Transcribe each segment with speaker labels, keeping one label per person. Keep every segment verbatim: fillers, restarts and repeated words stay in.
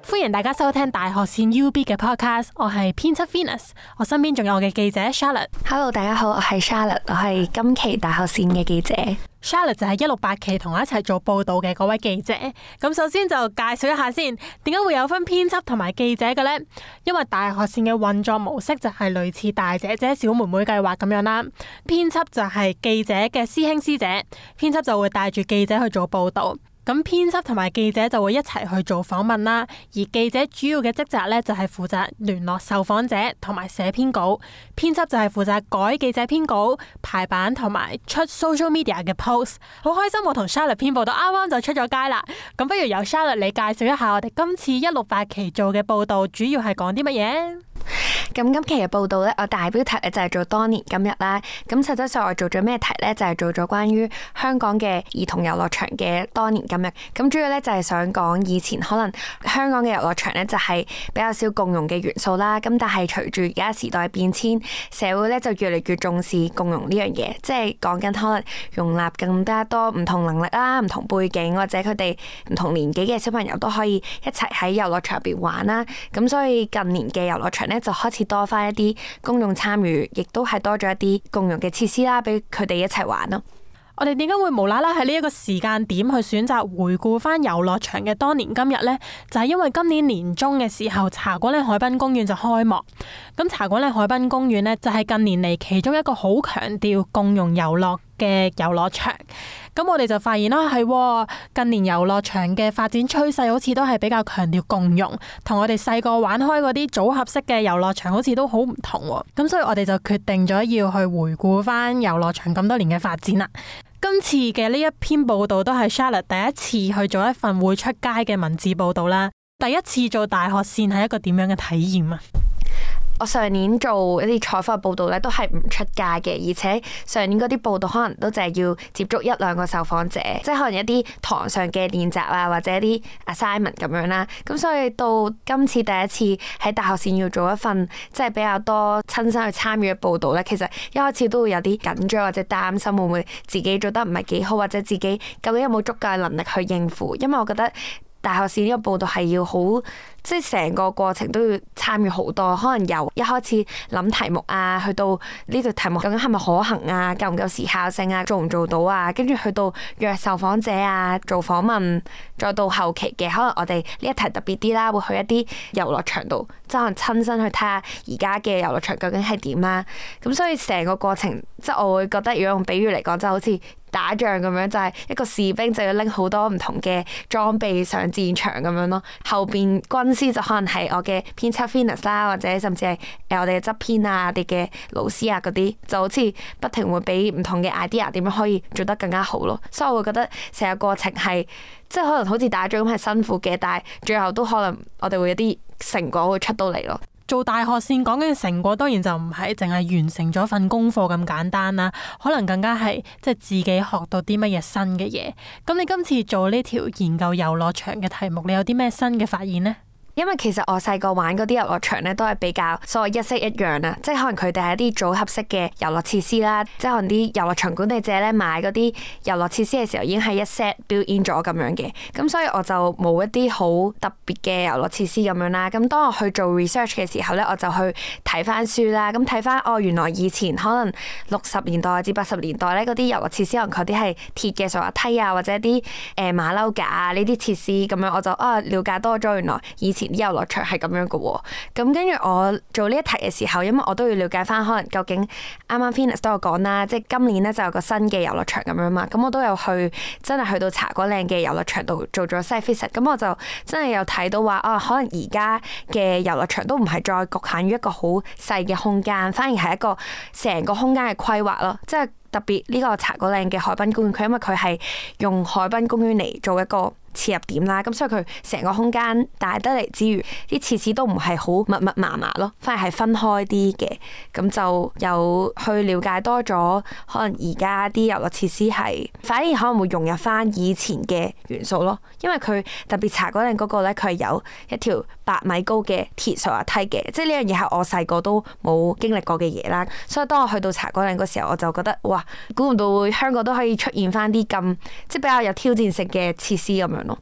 Speaker 1: 歡迎大家收聽大學線 U B 嘅 podcast， 我係編輯 Venus， 我身邊仲有我嘅記者 Charlotte。
Speaker 2: Hello， 大家好，我係 Charlotte， 我係今期大學線嘅記者。
Speaker 1: Charlotte 就係一六八期同我一齊做報道嘅嗰位記者。咁首先就介紹一下先，點解會有分編輯同埋記者嘅呢？因為大學線嘅運作模式就係類似大姐姐小妹妹計劃咁樣啦。編輯就係記者嘅師兄師姐，編輯就會帶住記者去做報道。咁編輯同埋記者就會一齊去做訪問啦，而記者主要嘅職責咧就係負責聯絡受訪者同埋寫編稿，編輯就係負責改記者編稿、排版同埋出 social media 嘅 post。好開心我同 Charlotte 編報道啱啱就出咗街啦，咁不如由 Charlotte 你介紹一下我哋今次一六八期做嘅報道主要係講啲乜嘢？
Speaker 2: 咁今期嘅報道咧，我大標題咧就係做當年今日啦。咁實際上我做咗咩題咧？就係做咗關於香港嘅兒童遊樂場嘅當年今日。咁主要咧就係想講以前可能香港嘅遊樂場咧就係比較少共融嘅元素啦。咁但係隨住而家時代變遷，社會咧就越嚟越重視共融呢樣嘢，即係講緊可能容納更加多唔同能力啦、唔同背景或者佢哋唔同年紀嘅小朋友都可以一齊喺遊樂場入邊玩啦。咁所以近年嘅遊樂場咧就開始多翻一啲公眾參與，亦都係多咗一啲共融嘅設施啦，俾佢哋一齊玩咯。
Speaker 1: 我哋點解會無啦啦喺呢一個時間點去選擇回顧翻遊樂場嘅當年今日呢？就係因為今年年中嘅時候，茶果嶺海濱公園就開幕。咁茶果嶺海濱公園呢，就係近年嚟其中一個好強調共融遊樂嘅遊樂場。咁我哋就發現啦，係近年遊樂場嘅發展趨勢好似都係比較強調共融，同我哋細個玩開嗰啲組合式嘅遊樂場好似都好唔同。咁所以我哋就決定咗要去回顧翻遊樂場咁多年嘅發展啦。今次嘅呢一篇報道都係 Charlotte 第一次去做一份會出街嘅文字報道啦。第一次做大學線係一個點樣嘅體驗啊？
Speaker 2: 我上年做一啲採訪報道咧，都係唔出街嘅，而且上年嗰啲報道可能都淨係要接觸一兩個受訪者，即係可能一啲堂上嘅練習啊，或者一啲 assignment 咁樣啦。咁所以到今次第一次喺大學線要做一份即係比較多親身去參與嘅報道咧，其實一開始都會有啲緊張或者擔心會唔會自己做得唔係幾好，或者自己究竟有冇足夠嘅能力去應付，因為我覺得大學線呢個報道係要好，即係成個過程都要參與好多，可能由一開始諗題目啊，去到呢條題目究竟係咪可行啊，夠唔夠時效性啊，做唔做到啊，跟住去到約受訪者啊，做訪問，再到後期嘅可能我哋呢一題特別啲啦，會去一啲遊樂場度，即係可能親身去睇下而家嘅遊樂場究竟係點啦。咁所以成個過程，即係我會覺得，如果用比喻嚟講，就好似打仗咁樣，就係一個士兵就要拎好多唔同嘅裝備上戰場咁樣咯。後邊軍師就可能係我嘅編輯 Venus 啦，或者甚至係誒我哋嘅執編啊、我哋嘅老師啊嗰啲，就好似不停會俾唔同嘅 idea 點樣可以做得更加好咯。所以我會覺得成個過程係即係可能好似打仗咁係辛苦嘅，但係最後都可能我哋會有啲成果會出到嚟咯。
Speaker 1: 做大學線講緊嘅成果，當然就唔係淨係完成咗份功課咁簡單啦，可能更加係即係自己學到啲乜嘢新嘅嘢。咁你今次做呢條研究遊樂場嘅題目，你有啲咩新嘅發現呢？
Speaker 2: 因為其實我細個玩嗰啲遊樂場咧，都係比較所謂一式一樣啊，即係可能佢哋係一啲組合式嘅遊樂設施啦，即係可能啲遊樂場管理者咧買嗰啲遊樂設施嘅時候已經係一 set built in 咗咁樣嘅，咁所以我就冇一啲好特別嘅遊樂設施咁樣啦。咁當我去做 research 嘅時候咧，我就去睇翻書啦，咁睇翻哦，原來以前可能六十年代至八十年代咧嗰啲遊樂設施，可能佢啲係鐵嘅滑滑梯啊，或者啲誒馬騮架啊呢啲設施咁樣，我就啊了解多咗原來以前啲遊樂場係咁樣嘅喎。咁跟住我做呢一題嘅時候，因為我都要了解翻可能究竟啱啱 Venus 都有講啦，即係今年咧就有個新嘅遊樂場咁樣嘛，咁我都有去真係去到茶果嶺嘅遊樂場度做咗 site visit，咁我就真係有睇到話啊，可能而家嘅遊樂場都唔係再局限於一個好細嘅空間，反而係一個成個空間嘅規劃咯，即係特別呢個茶果嶺嘅海濱公園，佢因為佢係用海濱公園嚟做一個切入點啦，咁所以佢成個空間大得嚟之餘，啲設施都唔係好密密麻麻咯，反而係分開啲嘅，咁就有去了解多咗，可能而家啲遊樂設施係反而可能會融入翻以前嘅元素咯，因為佢特別茶果嶺嗰個咧，佢係有一條八米高嘅鐵滑滑梯嘅，即係呢樣嘢係我細個都冇經歷過嘅嘢啦，所以當我去到茶果嶺嗰時候，我就覺得哇，估唔到會香港都可以出現翻啲咁即係比較有挑戰性嘅設施咁樣咯。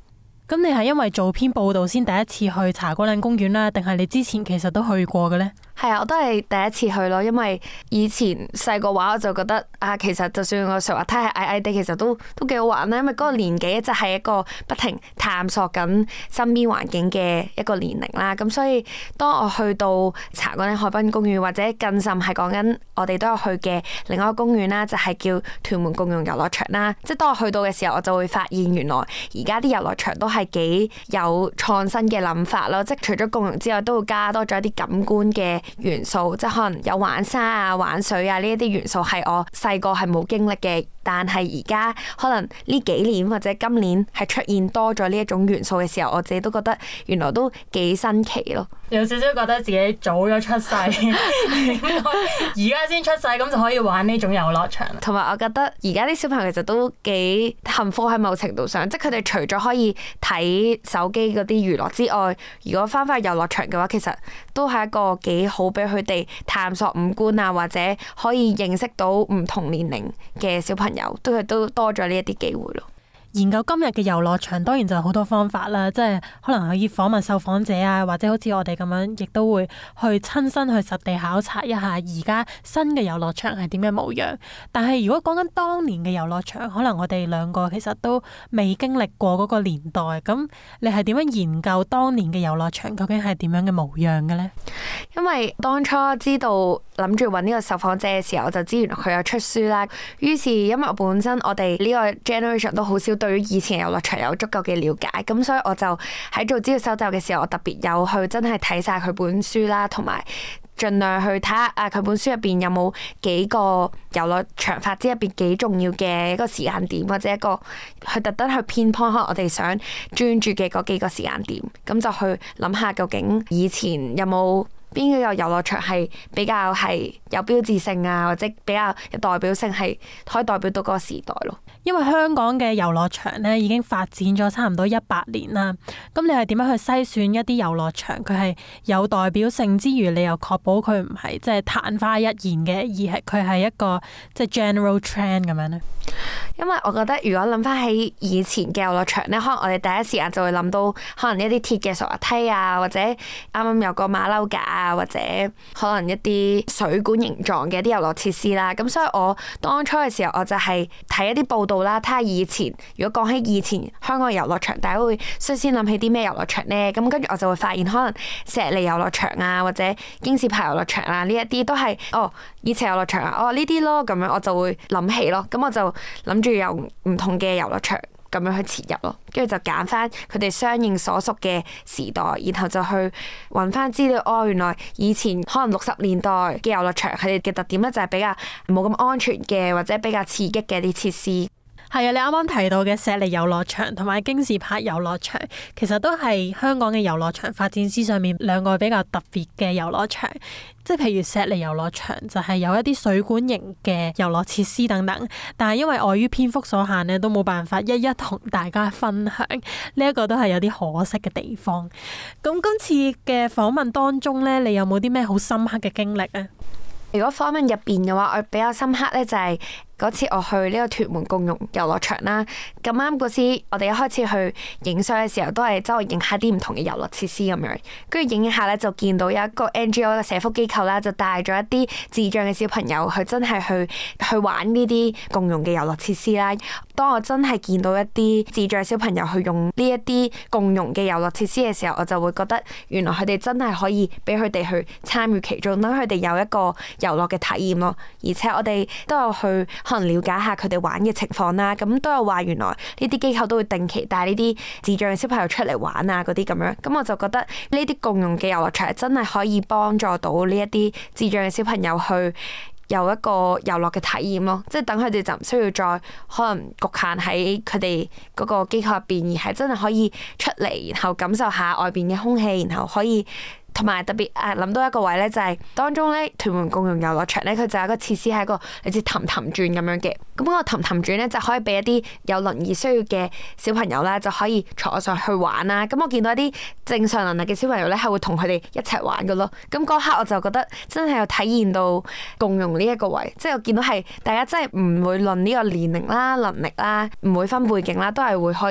Speaker 1: 咁你係因為做篇報道先第一次去茶果嶺公園啦，定係你之前其實都去過嘅呢？
Speaker 2: 係啊，我都係第一次去咯，因為以前細個話我就覺得啊，其實就算個滑梯係矮矮地，其實都都幾好玩啦。因為嗰個年紀就係一個不停探索緊身邊環境嘅一個年齡啦。咁所以當我去到茶果嶺海濱公園，或者更甚係講緊我哋都有去嘅另外一個公園啦，就係叫屯門共融遊樂場啦。即係當我去到嘅時候，我就會發現原來而家啲遊樂場都係幾有創新嘅諗法咯。即係除咗共融之外，都會加多咗一啲感官嘅元素，即係可能有玩沙啊、玩水啊呢一啲元素係我細個係冇經歷嘅，但係而家可能呢幾年或者今年係出現多咗呢一種元素嘅時候，我自己都覺得原來都幾新奇咯。
Speaker 1: 有少少覺得自己早咗出世，而家先出世咁就可以玩呢種遊樂場。
Speaker 2: 同埋我覺得而家啲小朋友其實都幾幸福喺某程度上，即係佢哋除咗可以睇手機嗰啲娛樂之外，如果翻返去遊樂場嘅話，其實都係一個幾好俾佢哋探索五官啊，或者可以認識到唔同年齡嘅小朋友，都係都多咗呢一啲機會咯。
Speaker 1: 研究今日嘅遊樂場當然就有好多方法啦，即係可能可以訪問受訪者啊，或者好似我哋咁樣，亦都會去親身去實地考察一下而家新嘅遊樂場係點嘅模樣。但係如果講緊當年嘅遊樂場，可能我哋兩個其實都未經歷過嗰個年代。咁你係點樣研究當年嘅遊樂場究竟係點樣嘅模樣嘅呢？
Speaker 2: 因為當初知道諗住揾呢個受訪者嘅時候，我就知原來佢有出書啦。於是因為我本身我哋呢個 generation 都好少對於以前遊樂場有足夠嘅了解，咁所以我就喺做資料搜集嘅時候，我特別有去真係睇晒佢本書啦，同埋盡量去睇下啊佢本書入邊有冇幾個遊樂場發展入邊幾重要嘅一個時間點，或者一個去特登去偏頗可能我哋想專注嘅嗰幾個時間點，咁就去諗下究竟以前有冇邊個遊樂場係比較係有標誌性啊，或者比較有代表性，係可以代表到嗰個時代咯。
Speaker 1: 因為香港嘅遊樂場咧已經發展咗差唔多一百年啦，咁你係點樣去篩選一啲遊樂場？佢係有代表性之餘，你又確保佢唔係即係曇花一現嘅，而係佢係一個即係 general trend 咁樣咧？
Speaker 2: 因為我覺得如果諗翻起以前嘅遊樂場咧，可能我哋第一時間就會諗到可能一啲鐵嘅滑梯啊，或者啱啱有個馬騮架啊，或者可能一啲水管形狀嘅一啲遊樂設施啦。咁所以我當初嘅時候，我就係睇一啲報道啦，睇下以前如果講起以前香港嘅遊樂場，大家會率先諗起啲咩遊樂場呢？咁跟住我就會發現，可能石籬遊樂場啊，或者京士柏遊樂場啊，呢一啲都係哦以前遊樂場啊，哦呢啲咯，咁樣我就會諗起咯。咁我就諗住由唔同嘅遊樂場咁樣去切入咯，跟住就揀翻佢哋相應所屬嘅時代，然後就去揾翻資料。哦，原來以前可能六十年代嘅遊樂場，佢哋嘅特點咧就係比較冇咁安全嘅，或者比較刺激嘅啲設施。
Speaker 1: 係啊，你啱啱提到嘅石籬遊樂場同埋京士柏遊樂場，其實都係香港嘅遊樂場發展史上面兩個比較特別嘅遊樂場。即係譬如石籬遊樂場就係有一啲水管型嘅遊樂設施等等，但係因為礙於篇幅所限咧，都冇辦法一一同大家分享。呢一個都係有啲可惜嘅地方。咁今次嘅訪問當中咧，你有冇啲咩好深刻嘅經歷啊？
Speaker 2: 如果訪問入邊嘅話，我比較深刻咧就係嗰次我去呢個屯門共融遊樂場啦。咁啱嗰次我哋一開始去影相嘅時候，都係周圍影下啲唔同嘅遊樂設施咁樣。跟住影一下咧，就見到有一個 N G O 嘅社福機構啦，就帶咗一啲智障嘅小朋友去真係去去玩呢啲共融嘅遊樂設施啦。當我真係見到一啲智障小朋友去用呢一啲共融嘅遊樂設施嘅時候，我就會覺得原來佢哋真係可以俾佢哋去參與其中，等佢哋有一個遊樂嘅體驗咯。而且我哋都有去可能了解下佢哋玩嘅情況啦。咁都有話原來呢啲機構都會定期帶呢啲智障嘅小朋友出嚟玩啊，嗰啲咁樣。咁我就覺得呢啲共融嘅遊樂場真係可以幫助到呢一啲智障嘅小朋友去有一個遊樂嘅體驗咯，即係等佢哋就唔需要再可能局限喺佢哋嗰個機構入邊，而係真係可以出嚟，然後感受下外邊嘅空氣，然後可以。同埋特別誒諗到一個位咧，就係當中咧屯門共融遊樂場咧，佢就有一個設施係一個類似氹氹轉咁樣嘅。咁嗰個氹氹轉咧就可以俾一啲有輪椅需要嘅小朋友啦，就可以坐上去玩啦。咁我見到一啲正常能力嘅小朋友咧，係會同佢哋一齊玩嘅咯。咁嗰刻我就覺得真係有體驗到共融呢一個位，即係我見到係大家真係唔會論呢個年齡啦、能力啦，唔會分背景啦，都係會可以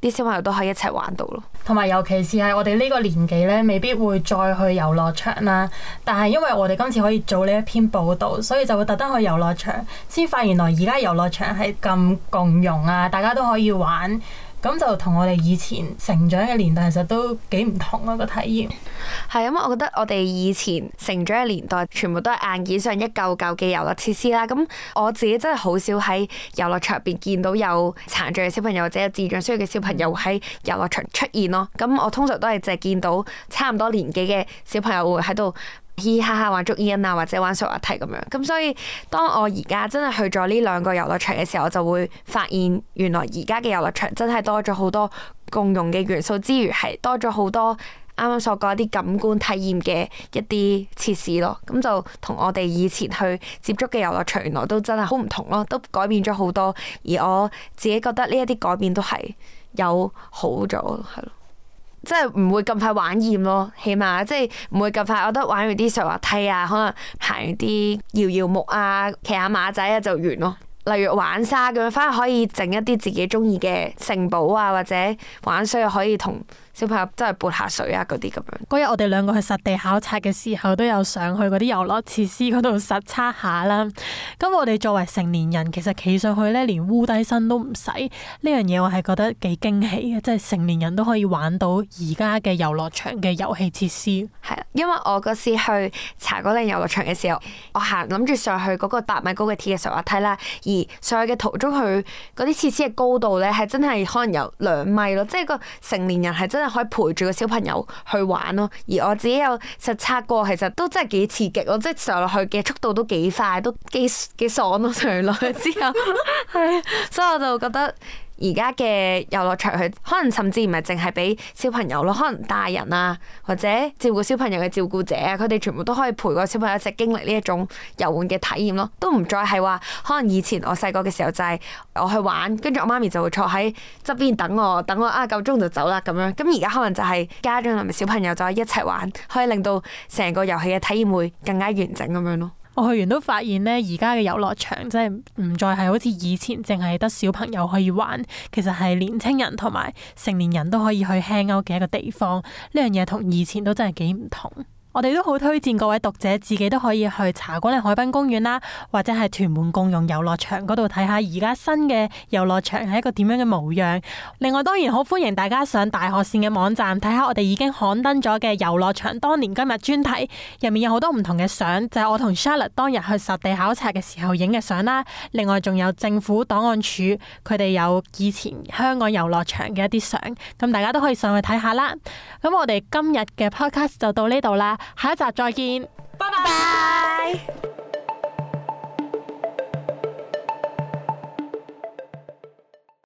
Speaker 2: 啲小朋友都可以一齊玩到咯。
Speaker 1: 同埋尤其是係我哋呢個年紀咧，未必會再去遊樂場啦。但係因為我哋今次可以做呢一篇報導，所以就會特登去遊樂場，先發現原來而家遊樂場係咁共融啊，大家都可以玩。咁就同我哋以前成長嘅年代其實都幾唔同啊，個體驗。
Speaker 2: 係因為我覺得我哋以前成長嘅年代全部都係硬件上一嚿嚿嘅遊樂設施啦。咁我自己真係好少喺遊樂場入邊見到有殘障嘅小朋友或者有智障需要嘅小朋友喺遊樂場出現咯。咁我通常都係淨係見到差唔多年紀嘅小朋友會喺度嘻嘻哈哈玩捉煙啊，或者玩水滑梯咁樣。咁所以當我而家真係去咗呢兩個遊樂場嘅時候，我就會發現原來而家嘅遊樂場真係多咗好多共融嘅元素之餘，係多咗好多啱啱所講一啲感官體驗嘅一啲設施咯。咁就同我哋以前去接觸嘅遊樂場原來都真係好唔同咯，都改變咗好多。而我自己覺得呢一啲改變都係有好咗，係咯。即係唔會咁快玩厭咯，起碼即係唔會咁快。我覺得玩完啲水滑梯啊，可能行完啲搖搖木啊、騎下馬仔啊就完咯。例如玩沙咁樣，反而可以整一啲自己中意嘅城堡啊，或者玩水又可以同小朋友真係潑下水啊嗰啲咁樣。
Speaker 1: 嗰日我哋兩個去實地考察嘅時候，都有上去嗰啲遊樂設施嗰度實測下啦。咁我哋作為成年人，其實企上去咧，連烏低身都唔使。呢樣嘢我係覺得幾驚喜嘅，即係成年人都可以玩到而家嘅遊樂場嘅遊戲設施。
Speaker 2: 係啊，因為我嗰時去茶果嶺遊樂場嘅時候，我行諗住上去嗰個八米高嘅鐵嘅水滑梯啦，而上去嘅途中，佢嗰啲設施嘅高度咧係真係可能有兩米咯，即係個成年人係真係可以陪住個小朋友去玩咯。而我自己有實測過，其實都真係幾刺激咯，即係上落去嘅速度都幾快，都幾幾爽咯。上落去之後，係，所以我就覺得而家嘅遊樂場，佢可能甚至唔係淨係俾小朋友咯，可能大人啊，或者照顧小朋友嘅照顧者啊，佢哋全部都可以陪個小朋友一齊經歷呢一種遊玩嘅體驗咯，都唔再係話可能以前我細個嘅時候就係我去玩，跟住我媽咪就會坐喺側邊等我，等我啊夠鐘就走啦咁樣。咁而家可能就係家長同埋小朋友就可以一齊玩，可以令到成個遊戲嘅體驗會更加完整咁樣咯。
Speaker 1: 我去完都發現咧，而家嘅遊樂場真係唔再係好似以前淨係得小朋友可以玩，其實係年青人同埋成年人都可以去 hang out 嘅一個地方。呢樣嘢同以前都真係幾唔同。我哋都好推薦各位讀者自己都可以去茶果嶺海濱公園啦，或者係屯門共融遊樂場嗰度睇下而家新嘅遊樂場係一個點樣嘅模樣。另外當然好歡迎大家上大學線嘅網站睇下我哋已經刊登咗嘅遊樂場當年今日專題，入面有好多唔同嘅相，就係我同 Charlotte 當日去實地考察嘅時候影嘅相啦。另外仲有政府檔案處佢哋有以前香港遊樂場嘅一啲相，咁大家都可以上去睇下啦。咁我哋今日嘅 podcast 就到呢度啦。下一集再見，拜拜。